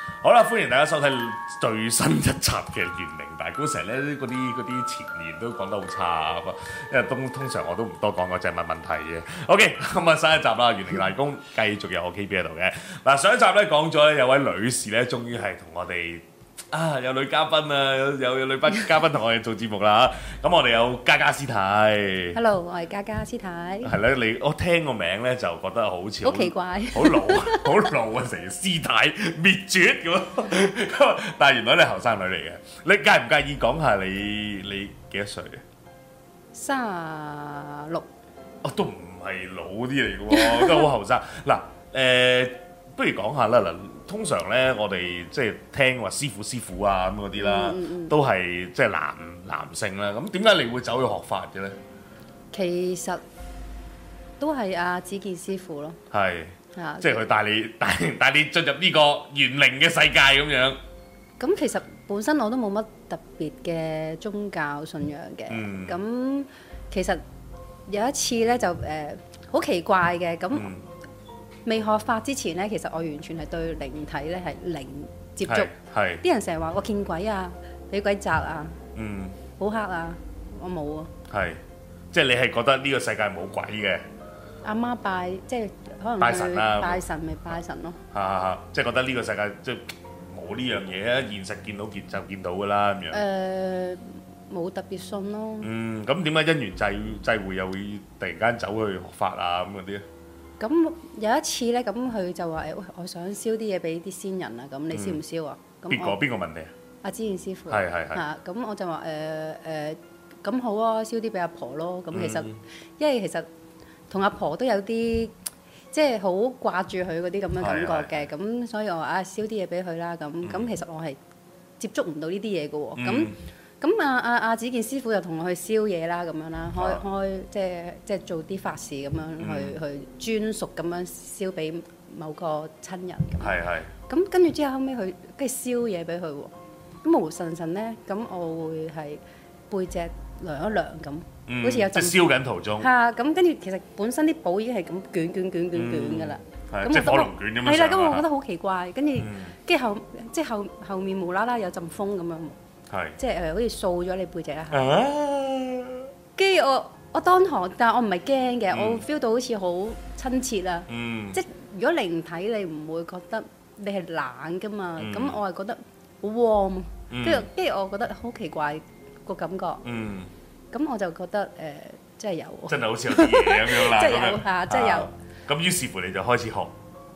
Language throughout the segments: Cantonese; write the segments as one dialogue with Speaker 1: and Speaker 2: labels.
Speaker 1: 好啦，歡迎大家收睇最新一集嘅玄靈大觀。成日咧嗰啲前言都講得好差，因為通常我都唔多講，我淨係問問題嘅。OK， 咁啊新一集啦，玄靈大觀繼續有我 KB 喺度嘅。嗱，上一集咧講咗有位女士咧，終於係同我哋有女嘉賓啊，有女嘉賓同我哋做節目啦。咁我哋有嘉嘉師太。
Speaker 2: Hello， 我係嘉嘉師太。
Speaker 1: 係咧，我聽個名咧就覺得好似
Speaker 2: 好奇怪，
Speaker 1: 好老啊，成師太滅絕咁。但係原來你係後生女嚟嘅，你介唔介意講下你幾多歲啊
Speaker 2: ？36。
Speaker 1: 都唔係老啲嚟嘅喎，都好後生。嗱，不如講下啦。嗱，通常咧我哋即係聽話師傅啊咁嗰啲啦，都係即係男性啦。咁點解你會走去學法嘅咧？
Speaker 2: 其實都係阿子健師傅咯。
Speaker 1: 係。即係佢帶你進入呢個玄靈嘅世界咁樣。
Speaker 2: 咁其實本身我都冇乜特別嘅宗教信仰嘅。咁其實有一次咧就好奇怪嘅。咁未學法之前咧，其實我完全係對靈體咧係零接觸。係。啲人成日話我見鬼啊，俾鬼責啊，好黑啊，我冇啊。係。
Speaker 1: 即係你係覺得呢個世界冇鬼嘅？
Speaker 2: 阿媽拜，即係可能
Speaker 1: 拜神啦，
Speaker 2: 拜神咪拜神咯。
Speaker 1: 即係覺得呢個世界即係冇呢樣嘢啊！現實見到就見到㗎啦咁樣。
Speaker 2: 冇特別信咯。
Speaker 1: 咁點解因緣際會又會突然間走去學法啊咁嗰啲咧？
Speaker 2: 咁有一次咧，咁佢就話我想燒啲嘢俾啲先人啊，咁你燒唔燒啊？
Speaker 1: 邊個問你啊？
Speaker 2: 阿子健師傅。
Speaker 1: 係。
Speaker 2: 咁我就話咁好啊，燒啲俾阿婆咯。咁其實因為其實同阿婆都有啲即係好掛住佢嗰啲咁嘅感覺嘅，咁所以我話燒啲嘢俾佢啦。咁其實我係接觸唔到呢啲嘢嘅喎。咁阿子健師傅就同我去燒嘢啦，咁樣啦，開即係做啲法事咁樣去專屬咁樣燒俾某個親人咁。係。咁跟住之後尾佢跟住燒嘢俾佢喎，咁無神神咧，咁我會係背脊涼一涼咁，好似有陣
Speaker 1: 即係燒緊途中。
Speaker 2: 咁跟住其實本身啲簿已經係咁捲㗎啦。
Speaker 1: 即係火龍捲咁樣。
Speaker 2: 係啦，咁我覺得好奇怪，跟住後面無啦啦有陣風咁樣。即係好似掃咗你背脊一下。跟住我當堂，但係我唔係驚嘅，我 feel 到好似好親切啊。即係如果靈體你唔會覺得你係冷㗎嘛，咁我係覺得好 warm。跟住我覺得好奇怪個感覺。咁我就覺得真係有。真係好似有啲嘢咁樣啦。真係有嚇，真係有。咁於是乎你就開始學。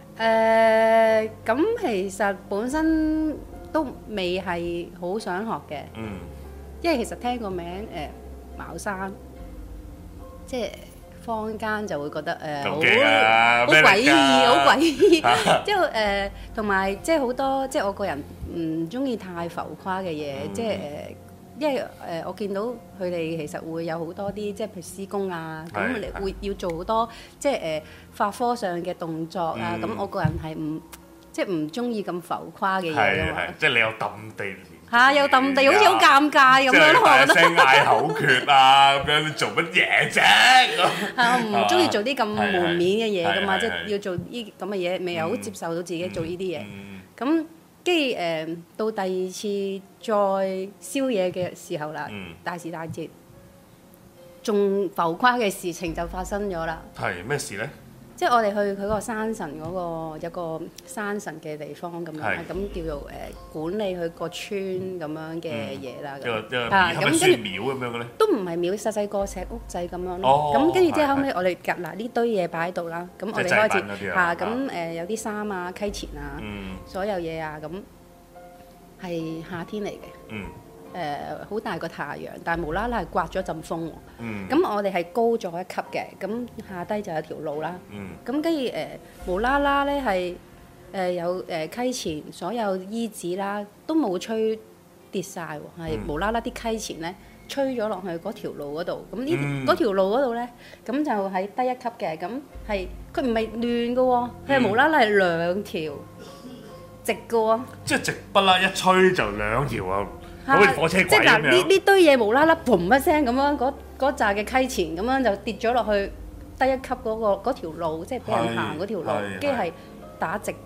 Speaker 2: 咁其實本身都未係好想學嘅，因為其實聽個名茅山，即係坊間就會覺得好詭異，好詭異。之後同埋即係好多，即係我個人唔中意太浮誇嘅嘢，即係因為我見到佢哋其實會有好多啲，即係譬如施工啊，咁你會要做好多即係法科上嘅動作啊，咁我個人係唔中意咁浮誇嘅嘢㗎嘛。即係你有揼地，有揼地，好似好尷尬咁樣咯。我覺得聲嗌口訣啊，咁樣你做乜嘢啫？我唔中意做啲咁門面嘅嘢㗎嘛，即係要做呢咁嘅嘢，未有好接受到自己做呢啲嘢。咁跟住到第二次再燒嘢嘅時候啦，大時大節，仲浮誇嘅事情就發生咗啦。係咩事咧？即係我哋去佢個山神嗰個有個山神嘅地方咁樣，咁叫做管理佢個村咁樣嘅嘢啦。咁跟住廟咁樣嘅咧？都唔係廟，細細個石屋仔咁樣咯。咁跟住之後後尾我哋夾嗱呢堆嘢擺喺度啦。咁我哋開始咁有啲衫啊、溪錢啊，所有嘢啊，咁係夏天嚟嘅。好大個太陽，但係無啦啦係刮咗陣風喎。咁我哋係高咗一級嘅，咁下低就有條路啦。咁跟住無啦啦咧係有溪錢，所有衣紙啦都冇吹跌晒喎，係無啦啦啲溪錢咧吹咗落去嗰條路嗰度。咁嗰條路嗰度咧，咁就喺低一級嘅，咁係佢唔係亂嘅喎，佢係無啦啦係兩條直嘅喎。即係直不啦，一吹就兩條啊！好似火車軌咁樣。即係嗱，呢堆嘢無啦啦，嘭一聲咁樣，嗰扎嘅溪錢咁樣就跌咗落去低一級嗰條路，即係俾人行嗰條路，跟住係打直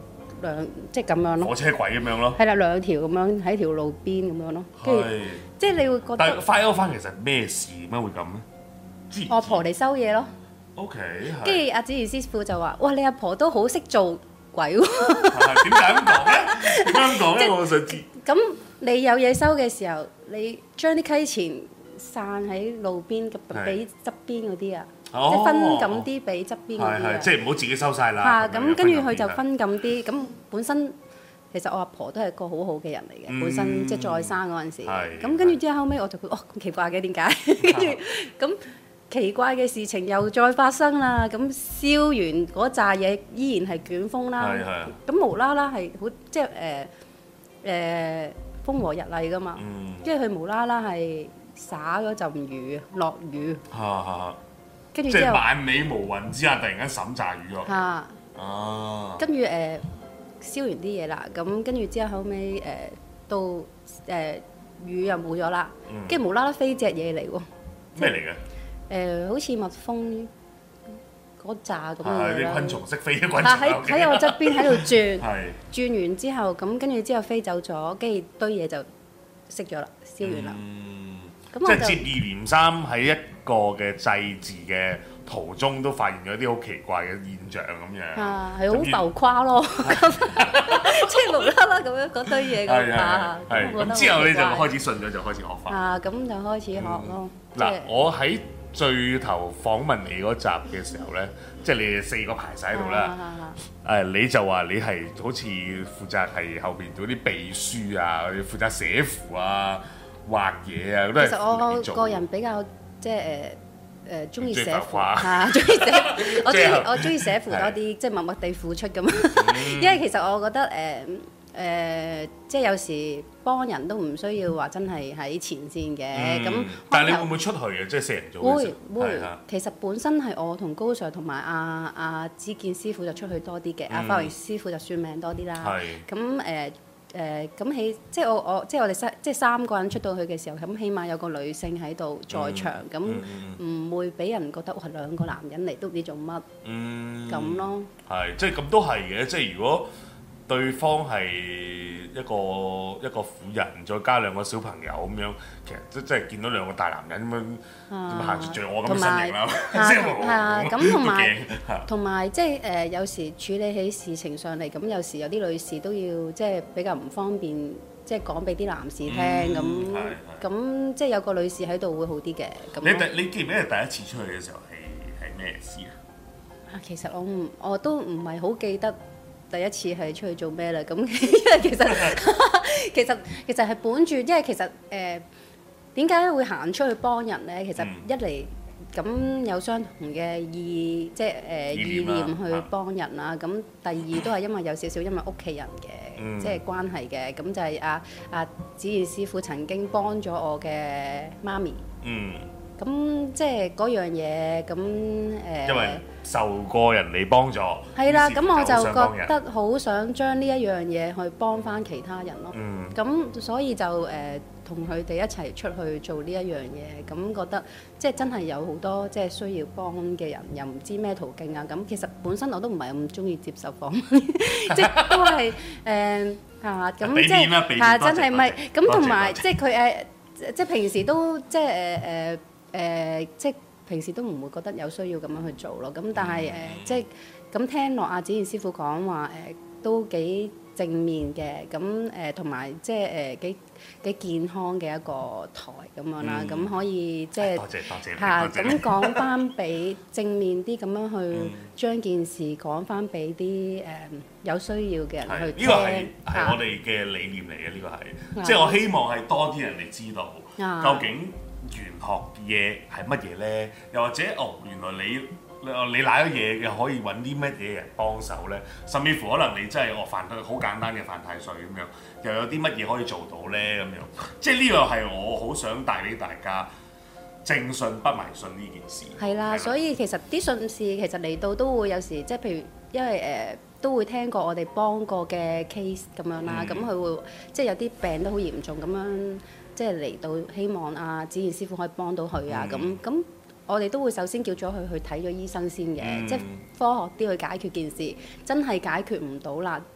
Speaker 2: 即係咁樣咯。
Speaker 1: 火車軌咁樣咯。
Speaker 2: 係啦，兩條咁樣喺條路邊咁樣咯。跟住即係你會覺得。但
Speaker 1: 係 fire 翻其實咩事點解會咁咧？
Speaker 2: 我阿婆嚟收嘢咯。
Speaker 1: OK。
Speaker 2: 跟住阿子賢師傅就話：哇，你阿婆都好識做鬼喎！
Speaker 1: 點解咁講咧？點解咁講咧？我想知。咁
Speaker 2: 你有嘢收嘅時候，你將啲溪錢散喺路邊，俾側邊嗰啲啊，即係分咁啲俾側邊嗰啲啊。即
Speaker 1: 係唔好自己收晒啦。
Speaker 2: 嚇，咁跟住佢就分咁啲。咁本身其實我阿婆都係個好好嘅人嚟嘅，本身即係再生嗰陣時。咁跟住之後後尾我就覺得咁奇怪嘅點解？跟住咁奇怪嘅事情又再發生啦。咁燒完嗰扎嘢依然係捲風啦。咁無啦啦係好即係誒風和日麗噶嘛。跟住佢無啦啦係灑嗰陣雨，落雨。跟住
Speaker 1: 即係萬里無雲之下，突然間滲炸雨落。
Speaker 2: 跟住燒完啲嘢啦，咁跟住之後後尾到雨又冇咗啦，跟住無啦啦飛隻嘢嚟喎。
Speaker 1: 咩嚟嘅？
Speaker 2: 好似蜜蜂嗰扎咁樣啦。
Speaker 1: 啲昆蟲識飛嘅昆蟲。
Speaker 2: 喺我側邊喺度轉，轉完之後咁跟住之後飛走咗，跟住堆嘢就熄咗啦，燒完啦。
Speaker 1: 即係接二連三喺一個嘅祭祀嘅途中都發現咗啲好奇怪嘅現象咁樣，
Speaker 2: 係好浮誇咯，即係無啦啦咁樣嗰堆嘢咁
Speaker 1: 之後你就開始信咗，就開始學法。
Speaker 2: 咁就開始學咯。
Speaker 1: 嗱，我喺最頭訪問你嗰集嘅時候咧，即係你哋4個排晒喺度啦。你就話你係好似負責係後邊做啲秘書啊，負責寫符啊。畫嘢啊，都係。
Speaker 2: 其實我個人比較即係中意寫符中意寫，我中意寫符多啲，即係默默地付出咁。因為其實我覺得即係有時幫人都唔需要話真係喺前線嘅。咁
Speaker 1: 但係你會唔會出去嘅？即係4人組嘅時候。
Speaker 2: 會。其實本身係我同高 Sir 同埋阿子健師傅就出去多啲嘅，阿花榮師傅就算命多啲啦。咁咁即係我哋3個人出到去嘅時候，咁起碼有個女性喺度在場，咁唔會俾人覺得哇2個男人嚟都唔知做乜咁咯。
Speaker 1: 係，即係咁都係嘅。即係如果對方係一個婦人，再加2個小朋友咁樣，其實即係見到2個大男人咁樣行住像我咁嘅身形啦。
Speaker 2: 咁同埋即係有時處理起事情上嚟，咁有時有啲女士都要即係比較唔方便，即係講俾啲男士聽咁即係有個女士喺度會好啲嘅。
Speaker 1: 你記唔記得第一次出去嘅時候係咩事啊？
Speaker 2: 其實我都唔係好記得。第一次係出去做咩啦？咁因為其實係本住，因為其實點解會行出去幫人咧？其實一嚟咁有相同嘅意念去幫人啦。咁第二都係因為有少少因為屋企人嘅即係關係嘅。咁就係阿子賢師傅曾經幫咗我嘅媽咪。咁即係嗰樣嘢咁
Speaker 1: 因為受過人哋幫助，
Speaker 2: 係啦，咁我就覺得好想將呢一樣嘢去幫翻其他人咯。咁所以就同佢哋一齊出去做呢一樣嘢，咁覺得即係真係有好多即係需要幫嘅人，又唔知咩途徑啊。咁其實本身我都唔係咁中意接受訪問，即係都係咁即係真係咪咁同埋即係佢即係平時都即係即係平時都唔會覺得有需要咁樣去做咯。咁但係即係咁聽落阿子賢師傅講話都幾正面嘅。咁同埋即係幾健康嘅一個台咁樣啦。咁可以即係多謝咁講翻俾正面啲咁樣去將件事講翻俾啲有需要嘅人去聽。
Speaker 1: 呢個係我哋嘅理念嚟嘅。呢個係即係我希望係多啲人嚟知道究竟玄學嘢係乜嘢咧？又或者原來你賴咗嘢又可以揾啲乜嘢人幫手咧？甚至乎可能你真係犯好簡單嘅犯太歲咁樣，又有啲乜嘢可以做到咧？咁樣即係呢個係我好想帶俾大家正信不迷信呢件事。
Speaker 2: 係啦，所以其實啲信士其實嚟到都會有時即係譬如因為都會聽過我哋幫過嘅 case 咁樣啦，咁佢會即係有啲病都好嚴重咁樣。即係嚟到希望阿子賢師傅可以幫到佢啊！咁我哋都會首先叫咗佢去睇咗醫生先嘅，即係科學啲去解決件事。真係解決唔到啦，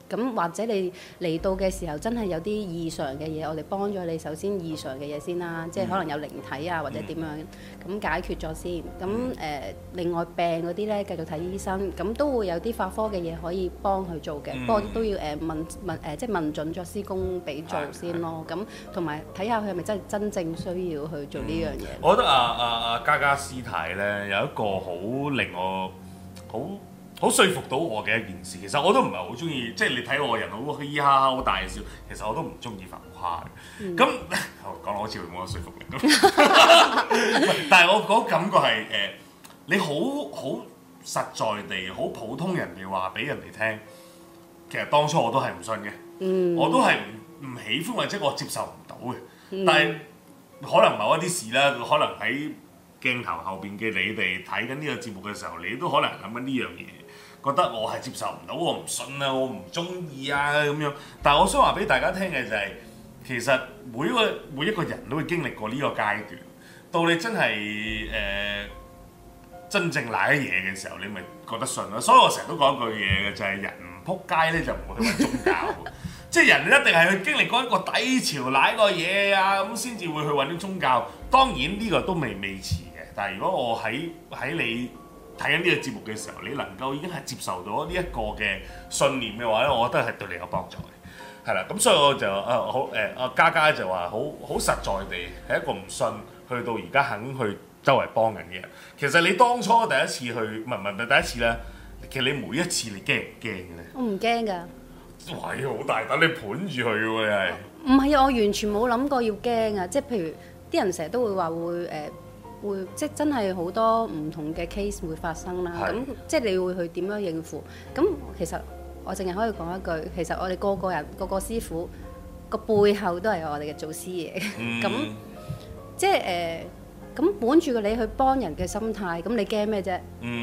Speaker 2: 咁或者你嚟到嘅時候真係有啲異常嘅嘢，我哋幫咗你首先異常嘅嘢先啦，即係可能有靈體啊或者點樣咁解決咗先。咁另外病嗰啲咧繼續睇醫生，咁都會有啲法科嘅嘢可以幫佢做嘅，不過都要即係問準咗師公俾做先咯。咁同埋睇下佢係咪真正需要去做呢樣嘢。
Speaker 1: 我覺得嘉嘉師太咧有一個好令我好說服到我嘅一件事，其實我都唔係好中意，即係你睇我個人好嘻嘻哈哈好大笑，其實我都唔中意浮誇嘅。咁講落好似冇乜說服力。但係我嗰感覺係你好實在地、好普通人哋話俾人哋聽，其實當初我都係唔信嘅，我都係唔喜歡或者我接受唔到嘅。但係可能某一啲事啦，可能喺鏡頭後邊嘅你哋睇緊呢個節目嘅時候，你都可能諗緊呢樣嘢。覺得我係接受唔到，我唔信啊，我唔中意啊咁樣。但係我想話俾大家聽嘅就係，其實每一個人都會經歷過呢個階段。到你真係真正賴嘢嘅時候，你咪覺得信咯。所以我成日都講一句嘢嘅，就係人唔撲街咧就唔會去揾宗教。即係人一定係去經歷過一個低潮賴個嘢啊，咁先至會去揾啲宗教。當然呢個都未遲嘅。但係如果我喺你睇緊呢個節目嘅時候，你能夠已經係接受到呢一個嘅信念嘅話咧，我覺得係對你有幫助嘅，係啦。咁所以我就嘉嘉就話好實在地係一個唔信，去到而家肯去周圍幫人嘅人。其實你當初第一次去唔係第一次咧，其實你每一次你驚唔驚嘅咧？我唔驚㗎。哇！好大膽，你盤住佢喎，你係？
Speaker 2: 唔係啊，我完全冇諗過要驚啊！即係譬如啲人成日都會話會即係真係好多唔同嘅 case 會發生啦，咁即係你會去點樣應付？咁其實我淨係可以講一句，其實我哋個個師傅個背後都係我哋嘅祖師爺，咁即係咁本住個你去幫人嘅心態，咁你驚咩啫？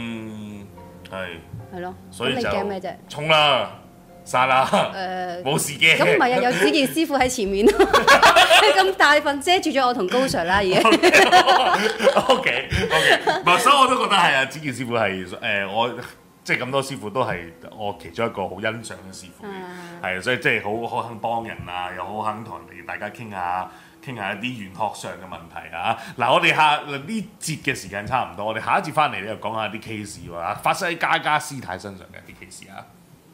Speaker 2: 係咯，
Speaker 1: 所以
Speaker 2: 咁你驚咩啫？
Speaker 1: 衝啦！散啦！冇事嘅。
Speaker 2: 咁唔係啊，有子健師傅喺前面，咁大份遮住咗我同高 Sir 啦，已經。
Speaker 1: OK，所以我都覺得係啊，子健師傅係我即係咁多師傅都係我其中一個好欣賞嘅師傅，係所以即係好肯幫人啊，又好肯同人哋大家傾下一啲玄學上嘅問題啊。嗱，我哋呢節嘅時間差唔多，我哋下一節翻嚟咧就講下啲 case 喎，發生喺嘉嘉師太身上嘅一啲 case 啊。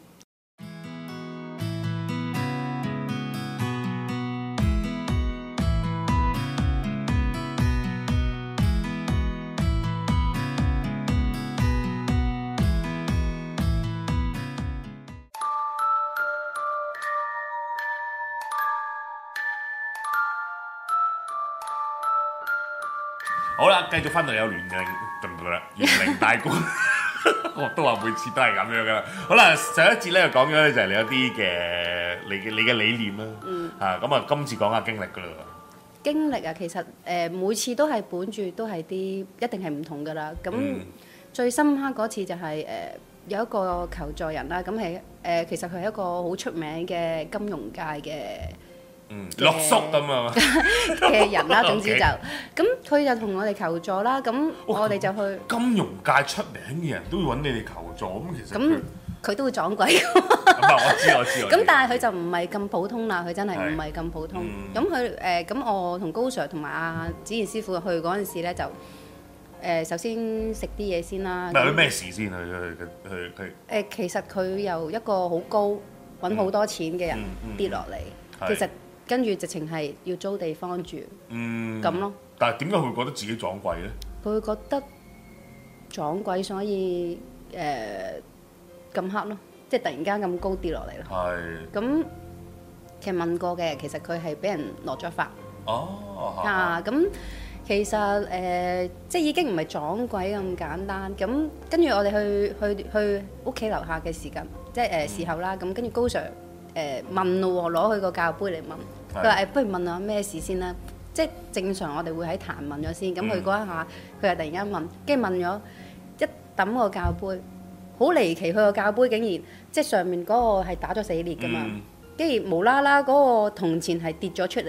Speaker 1: 好啦，繼續翻到有玄靈大觀，我都話每次都係咁樣噶啦。好啦，上一節咧就講咗咧就係你一啲嘅你嘅理念啦，咁啊今次講下經歷噶啦。
Speaker 2: 經歷啊，其實每次都係本住都係啲一定係唔同噶啦。咁最深刻嗰次就係有一個求助人啦，咁係其實佢係一個好出名嘅金融界嘅。
Speaker 1: 落叔咁啊
Speaker 2: 嘅人啦，總之就咁，佢就同我哋求助啦。咁我哋就去
Speaker 1: 金融界出名嘅人都會揾你哋求助，咁其實
Speaker 2: 咁佢都會撞鬼。
Speaker 1: 我知。
Speaker 2: 咁但係佢就唔係咁普通啦，佢真係唔係咁普通。咁佢咁我同高 Sir 同埋阿子賢師傅去嗰陣時咧，就首先食啲嘢先啦。
Speaker 1: 嗱，佢咩事先？佢
Speaker 2: 其實佢由一個好高揾好多錢嘅人跌落嚟，其實。跟住直情係要租地方住，咁咯。
Speaker 1: 但係點解佢會覺得自己撞鬼咧？
Speaker 2: 佢會覺得撞鬼，所以咁黑咯，即係突然間咁高跌落嚟咯。係。咁其實問過嘅，其實佢係俾人落咗法。咁其實即係已經唔係撞鬼咁簡單。咁跟住我哋去屋企樓下嘅時間，即係時候啦。咁跟住高 Sir。問咯喎，攞佢個教杯嚟問，佢話不如問下咩事先啦。即係正常我哋會喺壇問咗先，咁佢嗰一下佢又突然間問，跟住問咗一揼個教杯，好離奇，佢個教杯竟然即係上面嗰個係打咗死裂噶嘛，跟住無啦啦嗰個銅錢係跌咗出嚟喎。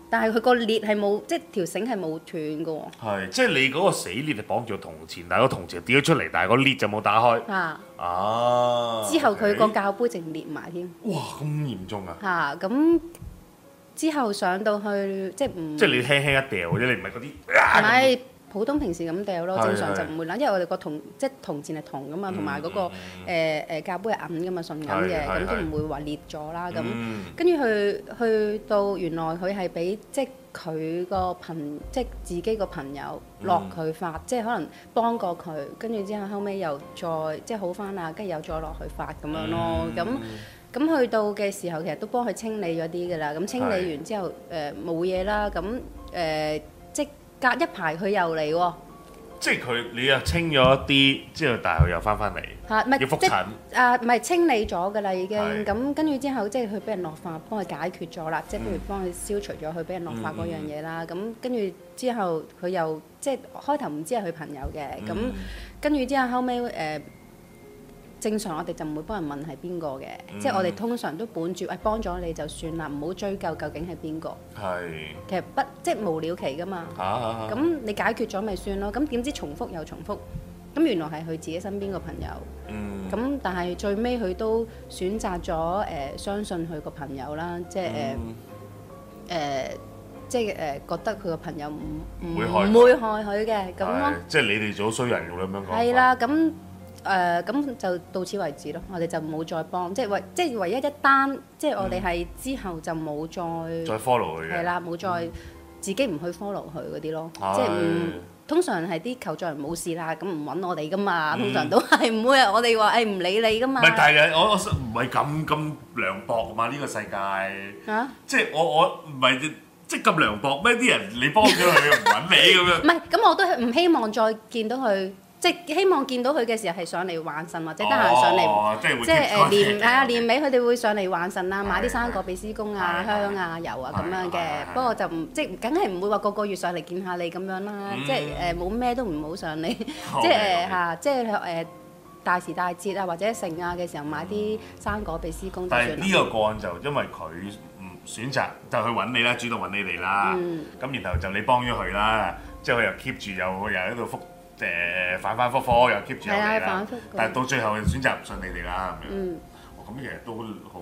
Speaker 2: 但係佢個裂係冇，即係條繩係冇斷嘅喎。
Speaker 1: 係，即係你嗰個死裂係綁住個銅錢，但係個銅錢跌咗出嚟，但係個裂就冇打開。
Speaker 2: 之後佢個教杯淨裂埋添。
Speaker 1: 哇！咁嚴重啊！
Speaker 2: 咁之後上到去即係唔。即係
Speaker 1: 你輕輕一掉啫，你唔係嗰啲。
Speaker 2: 唔係。普通平時咁掉咯，正常就唔會啦，因為我哋個銅即係銅錢係銅噶嘛，同埋嗰個教杯係銀噶嘛，純銀嘅，咁都唔會話裂咗啦。咁跟住去到原來佢係俾即係佢個即係自己個朋友落佢發，即係可能幫過佢，跟住之後後尾又再即係好翻啦，跟住又再落去發咁樣咯。咁去到嘅時候，其實都幫佢清理咗啲噶啦。咁清理完之後冇嘢啦，咁即係。隔一排佢又嚟喎，
Speaker 1: 即係你又清咗一啲，之後但係佢又翻嚟，要覆診。
Speaker 2: 唔係清理咗㗎啦已經，咁跟住之後即係佢俾人落髮，幫佢解決咗啦，即係譬如幫佢消除咗佢俾人落髮嗰樣嘢啦。咁跟住之後佢又即係開頭唔知係佢朋友嘅，咁跟住之後後尾正常我哋就唔會幫人問係邊個嘅，即係我哋通常都本住幫咗你就算啦，唔好追究究竟係邊個。其實即係無了期㗎嘛。咁你解決咗咪算咯？咁點知重複又重複？咁原來係佢自己身邊個朋友。咁但係最尾佢都選擇咗相信佢個朋友啦，即係覺得佢個朋友唔會害佢嘅咁咯。
Speaker 1: 即係你哋做衰人咁樣講。
Speaker 2: 係啦，咁就到此為止咯，我哋就冇再幫，即係唯一一單，即係我哋係之後就冇再
Speaker 1: follow 佢嘅。
Speaker 2: 係啦，冇再自己唔去 follow 佢嗰啲咯，即係通常係啲求助人冇事啦，咁唔揾我哋噶嘛，通常都係唔會我哋話唔理你噶嘛。
Speaker 1: 唔係，但係我唔係咁涼薄嘛，呢個世界。即係我唔係即係咁涼薄咩？啲人你幫咗佢唔揾你咁樣。
Speaker 2: 唔係，咁我都係唔希望再見到佢。即係希望見到佢嘅時候係上嚟還神或者得閒上嚟，即係年尾佢哋會上嚟還神啦，買啲生果俾師公啊、香啊、油啊咁樣嘅。不過就唔即係梗係唔會話個月上嚟見下你咁樣啦。即係冇咩都唔好上嚟，即係即係大時大節啊或者盛啊嘅時候買啲生果俾師公就算啦。
Speaker 1: 但係呢個個案就因為佢唔選擇就去揾你啦，主動揾你哋啦。咁然後就你幫咗佢啦，即係佢又 keep 住又喺度覆。反覆又 keep 住有你啦，但係到最後選擇唔信你哋啦咁樣。咁其實都好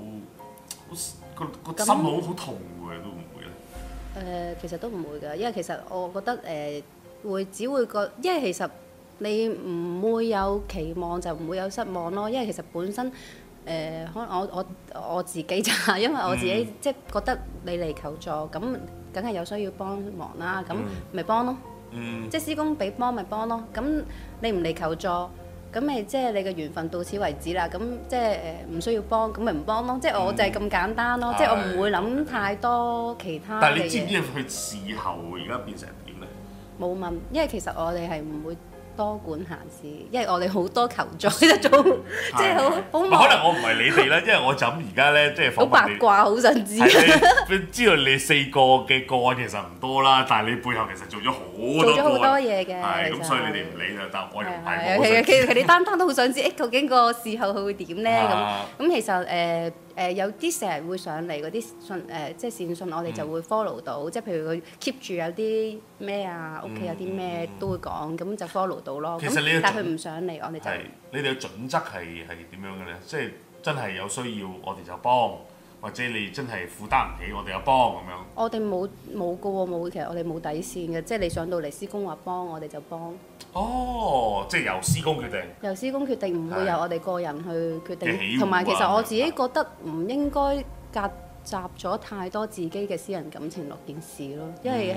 Speaker 1: 個心好痛嘅，都唔會咧。
Speaker 2: 其實都唔會㗎，因為其實我覺得只會覺，因為其實你唔會有期望就唔會有失望咯。因為其實本身可能我自己就係因為我自己即係覺得你嚟求助，咁梗係有需要幫忙啦，咁咪幫咯。即係師公俾幫咪幫咯，咁你唔嚟求助，咁咪即係你嘅緣分到此為止啦。咁即係唔需要幫，咁咪唔幫咯。即係我就係咁簡單咯。即係我唔會諗太多其他嘅嘢。
Speaker 1: 但係你知唔知佢事後而家變成點咧？
Speaker 2: 冇問，因為其實我哋係唔會多管閒事，因為我哋好多求助一種，即係好忙。
Speaker 1: 可能我唔係你哋啦，因為我就咁而家咧，即係
Speaker 2: 好八卦，好想知。
Speaker 1: 知道你4個嘅個案其實唔多啦，但係你背後其實做咗好多
Speaker 2: 嘢嘅。
Speaker 1: 係咁，所以你哋唔理就但我又唔係。
Speaker 2: 其實你單都好想知，究竟個事後佢會點咧？咁其實有啲成日會上嚟嗰啲信即係善信，我哋就會 follow 到，即係譬如佢 keep 住有啲咩啊，屋企有啲咩都會講，咁就 follow 到咯。
Speaker 1: 其實你
Speaker 2: 但係佢唔上嚟，我哋就
Speaker 1: 你哋嘅準則係點樣嘅咧？即係真係有需要，我哋就幫，或者你真係負擔唔起，我哋又幫咁樣。
Speaker 2: 我哋冇嘅喎，冇，其實我哋冇底線嘅，即係你上到嚟師公話幫，我哋就幫。
Speaker 1: 即係由師公決定。
Speaker 2: 由師公決定，唔會由我哋個人去決定。同埋其實我自己覺得唔應該夾雜咗太多自己嘅私人感情落件事咯，因為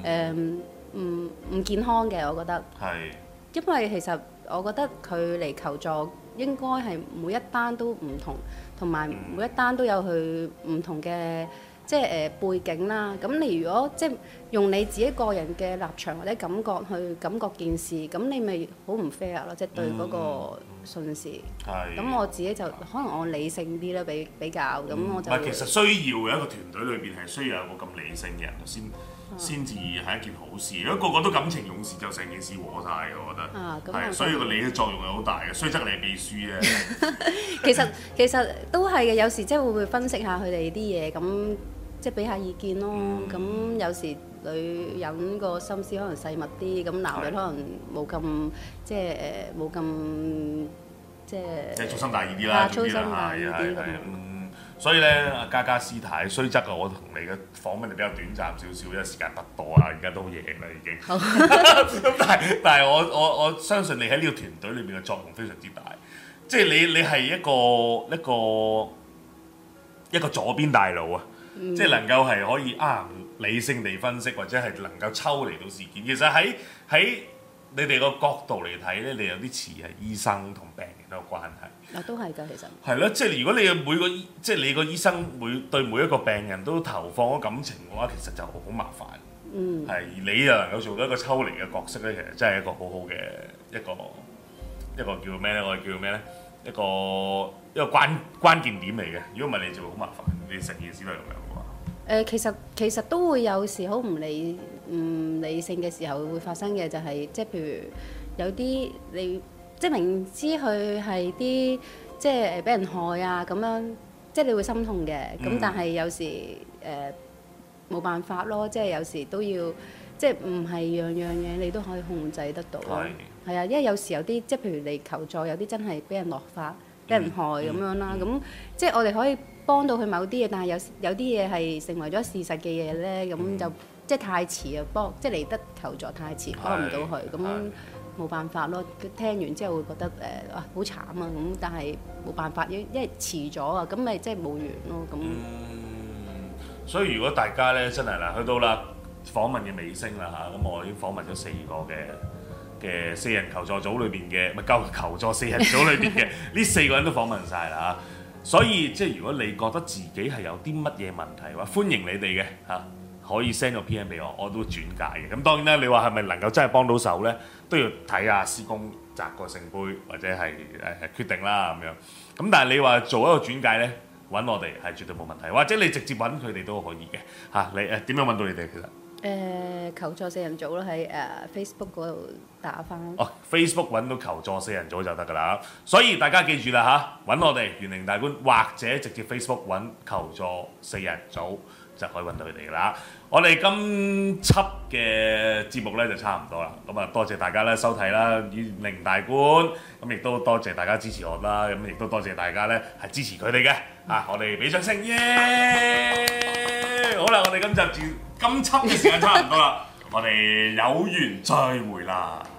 Speaker 2: 唔健康嘅，我覺得。係。因為其實我覺得佢嚟求助應該係每一單都唔同，同埋每一單都有佢唔同嘅即係背景啦。咁你如果即係用你自己個人嘅立場或者感覺去感覺件事，咁你咪好唔 fair 咯，即係對嗰個信士。係。咁我自己就可能我理性啲啦，比較咁我就。
Speaker 1: 其實需要嘅一個團隊裏邊係需要有個咁理性嘅人先至係一件好事。如果個個都感情用事，就成件事和晒嘅，我覺得。係，所以個你嘅作用係好大嘅。雖則你係秘書啫。
Speaker 2: 其實都係嘅，有時即係會分析下佢哋啲嘢咁。 即係俾下意見咯。咁有時女人個心思可能細密啲，咁男人可能冇咁即係冇咁即係粗
Speaker 1: 心大意啲啦，
Speaker 2: 粗心大意啲咁。
Speaker 1: 所以咧，阿嘉嘉師太，雖則我同你嘅訪問就比較短暫少少，因為時間不多啊，而家都夜啦已經。咁但係我相信你喺呢個團隊裏面嘅作用非常之大，即係你係一個左邊大腦啊，即係能夠係可以理性地分析，或者係能夠抽離到事件。其實喺你哋個角度嚟睇咧，你有啲似係醫生同病人都有關係。
Speaker 2: 都係㗎，其實。係
Speaker 1: 咯，即係如果你嘅即係你個醫生對每一個病人都投放咗感情嘅話，其實就好麻煩。係，而你又能夠做到一個抽離嘅角色咧，其實真係一個好好嘅一個叫咩咧？我哋叫咩咧？一個關鍵點嚟嘅。如果唔係，你就會好麻煩。你成件事都係咁樣嘅話。
Speaker 2: 其實都會有時好唔理性嘅時候會發生嘅，就係即係譬如有啲你即係明知佢係啲即係俾人害啊咁樣，即係你會心痛嘅。咁但係有時冇辦法咯，即係有時都要即係唔係樣嘢你都可以控制得到咯。係啊，因為有時有啲即係譬如你求助，有啲真係俾人落法、俾人害咁樣啦。咁即係我哋可以幫到佢某啲嘢，但係有啲嘢係成為咗事實嘅嘢咧，咁就即係太遲啊！即係嚟得求助太遲，幫唔到佢，咁冇辦法咯。聽完之後會覺得好慘啊！咁但係冇辦法，因為遲咗啊，咁咪即係冇緣咯。咁
Speaker 1: 所以如果大家咧真係嗱，去到啦訪問嘅尾聲啦嚇，咁我已經訪問咗4個嘅4人求助組裏邊嘅，咪求助4人組裏邊嘅呢4個人都訪問晒啦嚇。所以即係如果你覺得自己係有啲乜嘢問題嘅話，歡迎你哋嘅嚇，可以 send 個 PM 俾我都轉介嘅。咁當然啦，你話係咪能夠真係幫到手咧，都要睇下師公擲個聖杯或者係決定啦咁樣。咁但係你話做一個轉介咧，揾我哋係絕對冇問題，或者你直接揾佢哋都可以嘅嚇。你點樣揾到你哋其實？
Speaker 2: 求助4人組咯，喺Facebook 嗰度打返。
Speaker 1: Facebook 揾到求助4人組就得㗎啦。所以大家記住啦嚇，揾我哋玄靈大觀，或者直接 Facebook 揾求助4人組就可以揾到佢哋㗎啦。我哋今輯嘅節目咧就差唔多啦。咁啊，多謝大家咧收睇啦，玄靈大觀。咁亦都多謝大家支持我啦。咁亦都多謝大家咧係支持佢哋嘅。我哋俾掌聲耶！好啦，我哋今輯嘅時間差唔多啦，我哋有緣再會啦。